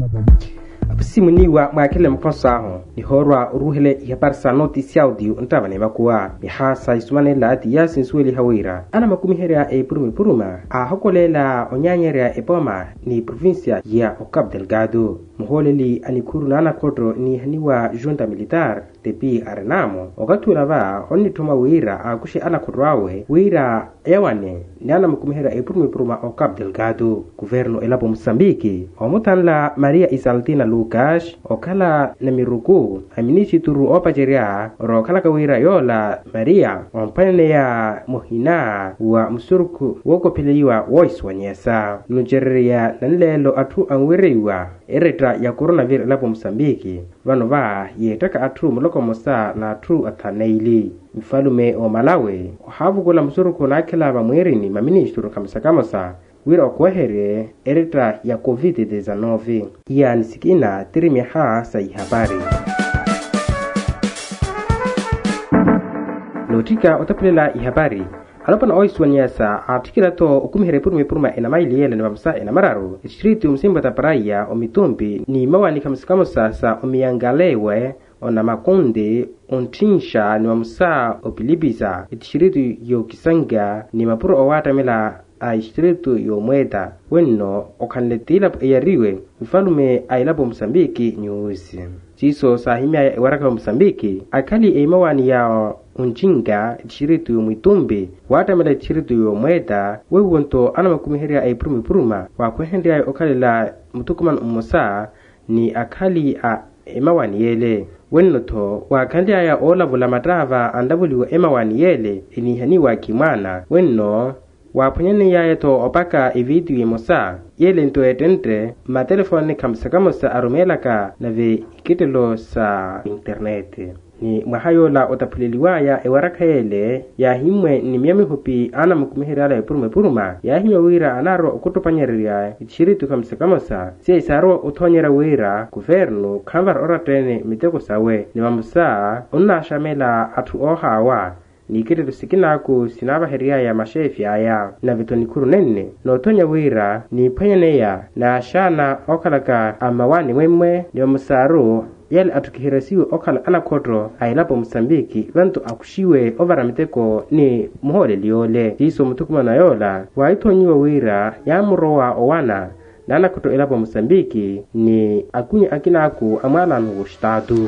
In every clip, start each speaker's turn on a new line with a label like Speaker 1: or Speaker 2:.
Speaker 1: Simuni wa makele mkonsaho ni horwa ruhele ya parsa notisi audio ntavane makuwa ni hasa isumane la ati ya sinsueli hawira ana makumiherea e puruma a hokolela onyanyerea e poma ni provincia ya Cabo Delgado muholeli anikuru na anakoto ni haniwa junta militar tepi arenamo wakati lava onni tuma wira akushi anakotrawe wira ewane ni ana makumiherea e puruma o Cabo Delgado governo elapo Mozambique omutanla Maria Isaltina Lucas okala na miruku aminishi turu opajeria ro kala kawira yola Maria ompane ya mohina wa msuruku woko pelewa voice wanyesa nujeria nanlelo atu anwiriwa ereta ya coronavirus lapo Mozambique vano va yetaka atu muloko mosa na atu ataneili mfalume o Malawi havugola msuruku na kila va mwirini maministru kamsakamosa wira okwehere ereta ya COVID-19 ya nisikina tirimiha sai habari lotika otapelela ihabari alopana oiswanyasa atikila to ukumihere puruma ena maili yele ni mamsa ena mararu distritu msimba taparaya omitumbi ni mawani kamsikamosa sa omiyangalewe ona makonde ontinsha ni mamsa opilibiza distritu yo kisanga ni mapuro owatamela a distrito yo mweta wenno okanletila yariwe mfalume ailapo Mozambique news siso sahimia waraka Mozambique akali eimawani ya unjinga distrito yo mwitumbi watamela distrito yo mweta wewonto anamakumiheria ai puruma wa kwehendea okalela mutukuman umosa ni akali a emawani yele wenno to wakandi ya ola vula matrava andavuliwa emawani yele inihaniwa kimwana wenno waponyene yaeto opaka evidu yemosa yele nto etente ma telefone kamsakamosa arumelaka na ve ikitelo sa internet ni mwahayola otapuliliwaya ewaraka yele ya himwe ni miami hupi ana mkumiherala ya puruma ya himwe wira anaro okutopanyeria itishiritu kamsakamosa siya isaro utonyera wira guvernu kamvar oratene miteko sawe ni mamusa unashamela atu ohawa ni kile sikinaku sinaba heria ya mashefi aya na vitonikuru nene no tonya wira ni panyaneya na shana okalaka amawani mwemwe ni musaro yale atukihirasiwe okala anakodro ailapo Mozambique vantu akushiwe ovara miteko ni muhole liole jiso mutukuma na yola waitonyiwa wira ya murowa owana na anakoto ilapo Mozambique ni akunye akinaku amala nugu shtadu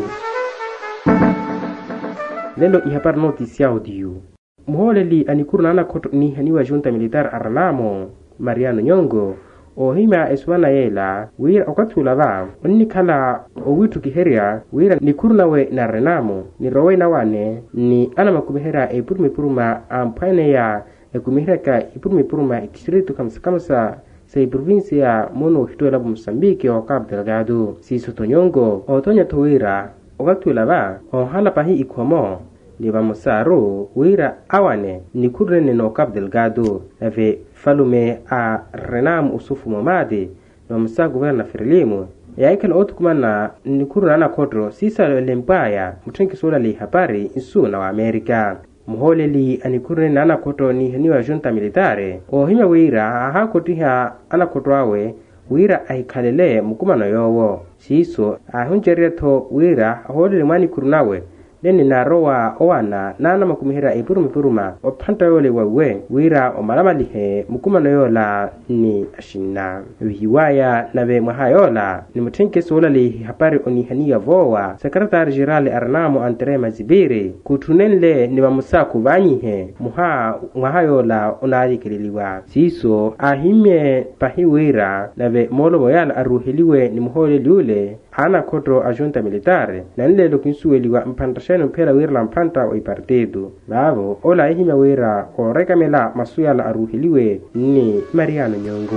Speaker 1: lelo ihapar notisi audio muholeli anikuru na anakoto ni haniwa junta militar aranamo Mariano Nyongo o hima eswana yela wira okatula va onni kala o witu kiheria wira nikuru nawe na renamo ni rowe na wane ni ana makumihera e puruma ampane ya kumihera ka puruma distrito kamsa sei provincia mono hitoela Mozambique o Cabo Delgado si sotonyongo o tonya towira okatula va o hala pahi ikomo ni bamusaro wira awane ni kurene no Cabo Delgado ave falume a renam usufu momade no musa governa Frelimo ya ikan otukumana ni kurana kodro sisa lempaya mutrenki sola li habari isu na wa Amerika muholeli anikurene ana koto ni haniwa junta militare o hima wira hakotiha ana kodwawe wira aikalele mukumano yowo siso ahunjeria to wira holele mani kurunawe nene narowa owana nana makumihera e puruma opanta yole wawe wira omalamalihe mukumano yola ni ashina wiwaya nabe mahayola ni mutenke sola li hapari onihania vowa sekretari general Arnamo Andre Mazibiri kutunenle ni bamusaku banyihe muhayola onali kililiwa siso ahimye pahiwira nabe molo moyala aruhiliwe ni muhole liule ana kodro ajunta militare na nile lokinsueliwa mpantasheno mpela wira la mpanta o ipartido bavo ola ihima wira o rekamela masuyala aruhiliwe ni Mariano Nyongo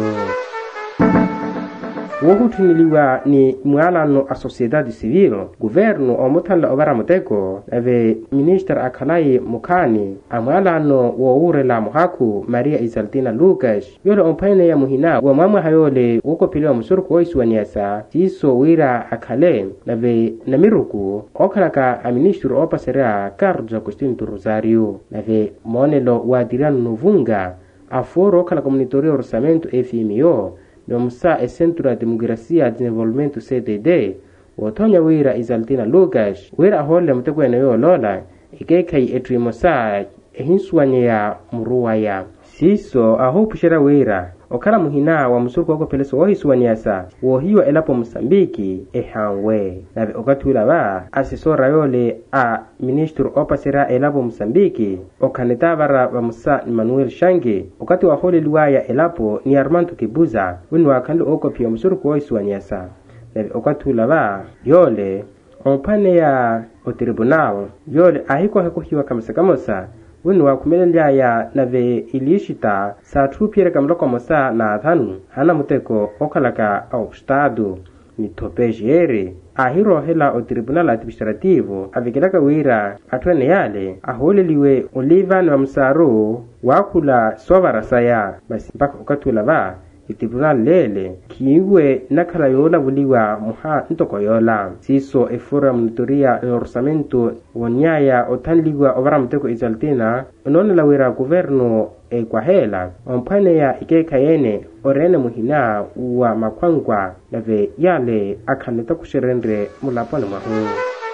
Speaker 1: wohutuniliwa ni mualano a sociedade civil governo o mutanla obara muteko ave minister akalai mukani amualano wo urela muhaku Maria Isaltina Lucas yole ompane ya muhina wa mama hayole woko piliwa musuruku oiswanyasa siso wira akale ave namiruku okalaka a ministro opasera Carlos Agostinho Rosario ave monelo wa dirano novunga aforo kala komunitorio orçamento FMO no musa e Centro de Democracia e Desenvolvimento CDD wotonya wira Izaltina Lucas wira hole mtekwene yo lola ikekai etwimosa ehinsuanye ya muruwaya siso ahopushira wira okala muhina wa musurku wako peleso wohisuanyasa wohiwa elapo Mosambiki ehangwe nabe okatula ba asesora yole a ministro opasera elapo Mosambiki okanetavara wa Musa Emmanuel Shange okati wa hole luwaya elapo ni Armando Kibuza winu wakando oko pia musurku wohisuanyasa nabe okatula ba yole ompane ya o tribunal yole ahiko hakuhiwa kamsakamosa winu wa kumelelea ya nave ilishita sa trupiere kamloko mosa na thanu hana muteko okalaka au stado ni topejiere ahiro hela o tribunal administrativo avikilaka wira atwene yale aholeliwe Olivan wa Msaro wakula sovarasaya basi mpaka ukatula ba tribunal lele kiwe nakala yola buliwa muha ntoko yola siso efora monitoria orçamento wonyaya otanliwa ovara mteko Izaltina onone la wira governo kwa hela ompane ya ikeka yene orene muhina wa makwangwa nave yale akaneta kusherendre mulapone mahu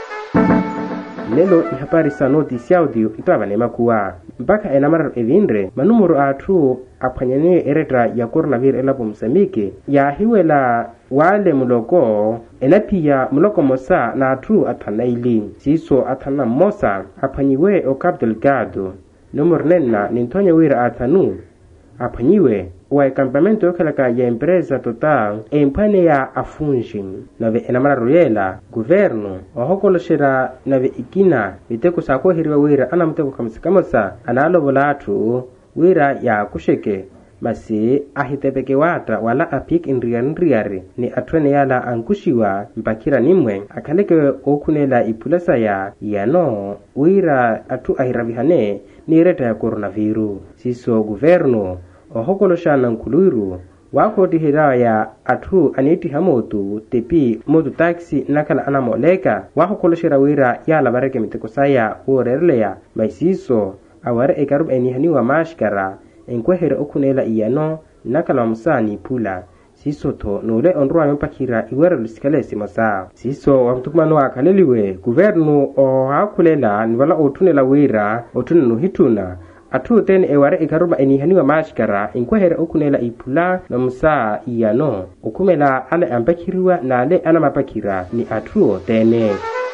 Speaker 1: lelo ihapari sa notice audio itwabane makuwa mpaka enamara evindre manumuru atu apanyane eretra ya coronavirus elapo Mosambiki ya hiwela wale muloko enapia muloko mosa na atu atanaili siso atana mosa apanyiwe o Cabo Delgado numero nena nintonya wira atanu apanyiwe wa campamento yokalaka ya empresa total empane ya afunji nave enamara royela governo ohokoloshera nave ikina miteko sako hiriwa wira ana mteko kamsikamosa analo volatu wira ya kusheke masi ahitepeke wata wala apik indriari ni atwene yala ankushiwa mpakira nimwe akaleke okunela ipulasa ya yano wira atu ahiravihane ni reta ya coronavirus siso governo ohokoloshana nkuluiru wakoti hiraya atu aniti hamotu tepi motu taxi nakala anamoleka wakoloshira wira yala bareke miteko saya urerleya maisiso aware ekarub enihaniwa mashkara enkwehere okunela iyano nakala musani pula siso to nole onruwa mpakira iwere lusikalesi masa siso wamtukumano wakaleliwe guvernu o hakulela niwala otunela wira otunenu hituna atu ten eware ikaruba enihaniwa mashkara enkwehere okunela ipula na musa iyano okumela ale ampakiriwa na ale anamapakira ni atu tene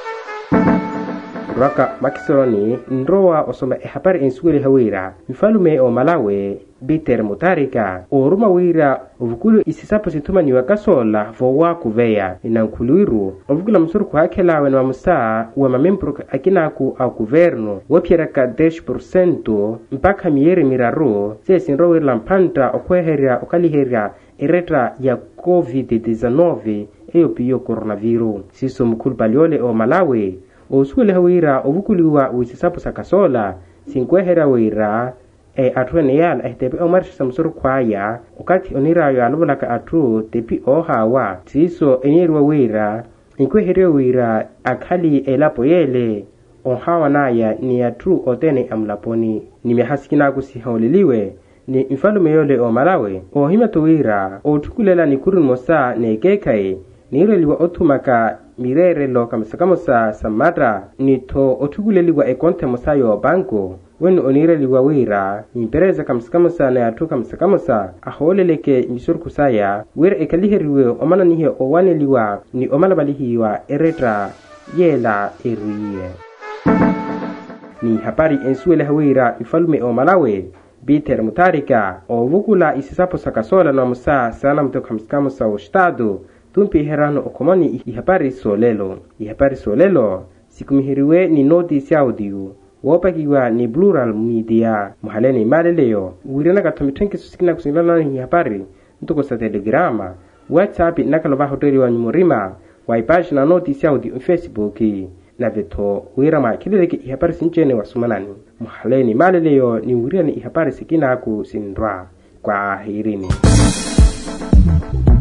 Speaker 1: raka makisoni nroa osoma ehapari ensuele hawira mfalume o Malawi Peter Mutharika oruma wira ovukulu isisapo situma ni wakasola vowa kuveya inankuluiru ovukula msuru kuhakela wena musa wa mamembro akinaku au governo wapieraka 10% mpaka miere miraro sesi nroa lampanta okweheria okaliheria eretra ya COVID-19 eyo piyo coronavirus siso mkulu paliole o Malawi osuele hawira ovukuliwa uisisapo sakasola sinkwehera wira atwene yala tepi omarisha samsuru kwaya ukati onirayo alubulaka atu tepi ohawa siso enirwa wira inkweherwa wira akali elapo yele ohawa naya ni atu otene amlaponi nimehasikina kusihauliliwe ni mfalume yole o Malawi ohimato wira otukulela ni kurun mosa nekekai nireliwa otumaka mirere lo kamsakamosa samatra nito otuguleliwa ekonte mosayo banko wenu onireliwa wira impereza kamsakamosa na atu kamsakamosa aholeleke misurku saya wira ekaliheriwe omana nihe owaneliwa ni omana balihiwa eretra yela eriye ni hapari ensuele hawira ifalume o Malawi Peter Mutharika ovukula isisapo sakasola na musa sana mto kamsakamosa o estado tumpi herano okomani ihapari solelo sikumihiriwe ni notice audio wopakiwa ni Plural Media muhaleni maleleo wirena katomitwenke susikina kusilana ni ihapari ntoko sa telegrama WhatsApp nakaloba hoteli wa nyumurima waipashi na notice audio Facebook na veto wirama kileleke ihapari sinchene wasumanani muhaleni maleleo ni wirena ihapari sikina ku sindra kwa hirini